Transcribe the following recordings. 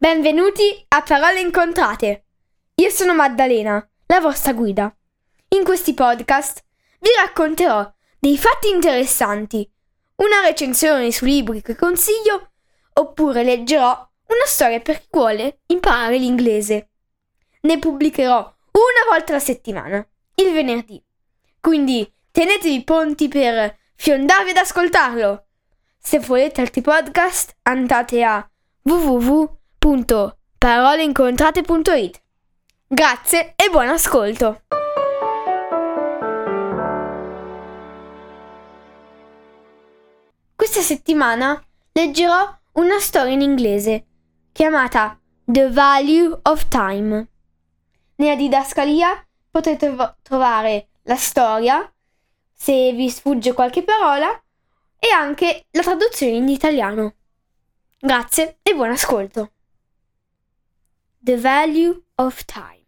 Benvenuti a Parole Incontrate. Io sono Maddalena, la vostra guida. In questi podcast vi racconterò dei fatti interessanti, una recensione su libri che consiglio, oppure leggerò una storia per chi vuole imparare l'inglese. Ne pubblicherò una volta alla settimana, il venerdì. Quindi tenetevi pronti per fiondarvi ad ascoltarlo. Se volete altri podcast, andate a www.paroleincontrate.it. Grazie e buon ascolto! Questa settimana leggerò una storia in inglese chiamata The Value of Time. Nella didascalia potrete trovare la storia, se vi sfugge qualche parola, e anche la traduzione in italiano. Grazie e buon ascolto. The Value of Time.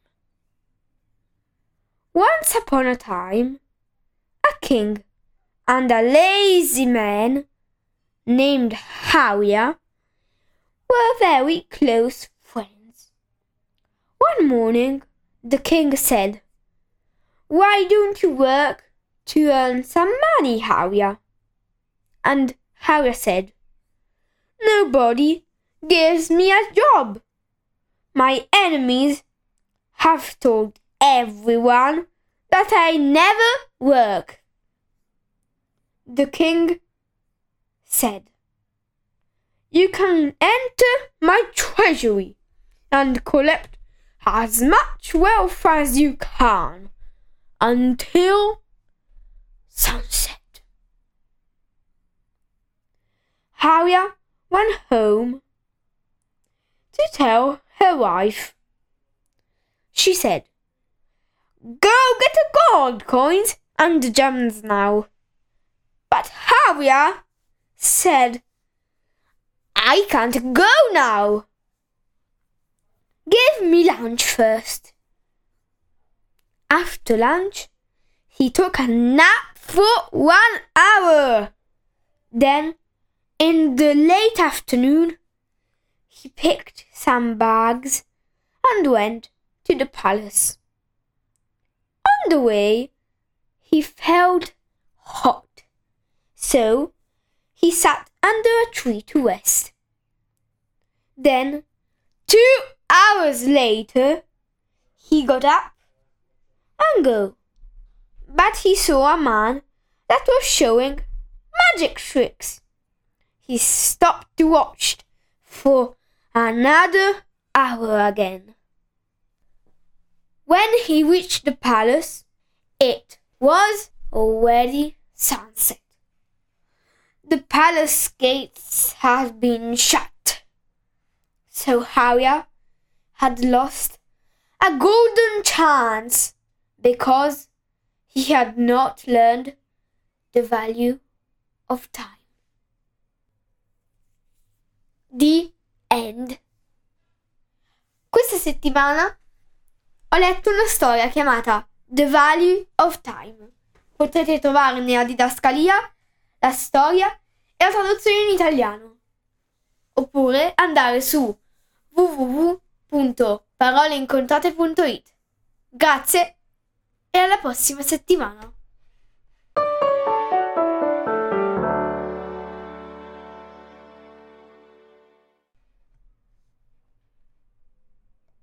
Once upon a time, a king and a lazy man named Hawia were very close friends. One morning, the king said, "Why don't you work to earn some money, Hawia?" And Hawia said, "Nobody gives me a job. My enemies have told everyone that I never work." The king said, "You can enter my treasury and collect as much wealth as you can until sunset." Hawia went home to tell her wife. She said, "Go get the gold coins and the gems now." But Hawia said, "I can't go now. Give me lunch first." After lunch, he took a nap for 1 hour. Then, in the late afternoon, he picked some bags and went to the palace. On the way, he felt hot, so he sat under a tree to rest. Then, 2 hours later, he got up and go. But he saw a man that was showing magic tricks. He stopped to watch for another hour again. When he reached the palace, it was already sunset. The palace gates had been shut, so Hawia had lost a golden chance because he had not learned the value of time. The End. Questa settimana ho letto una storia chiamata The Value of Time. Potrete trovare nella didascalia la storia e la traduzione in italiano. Oppure andare su www.paroleincontrate.it. Grazie e alla prossima settimana.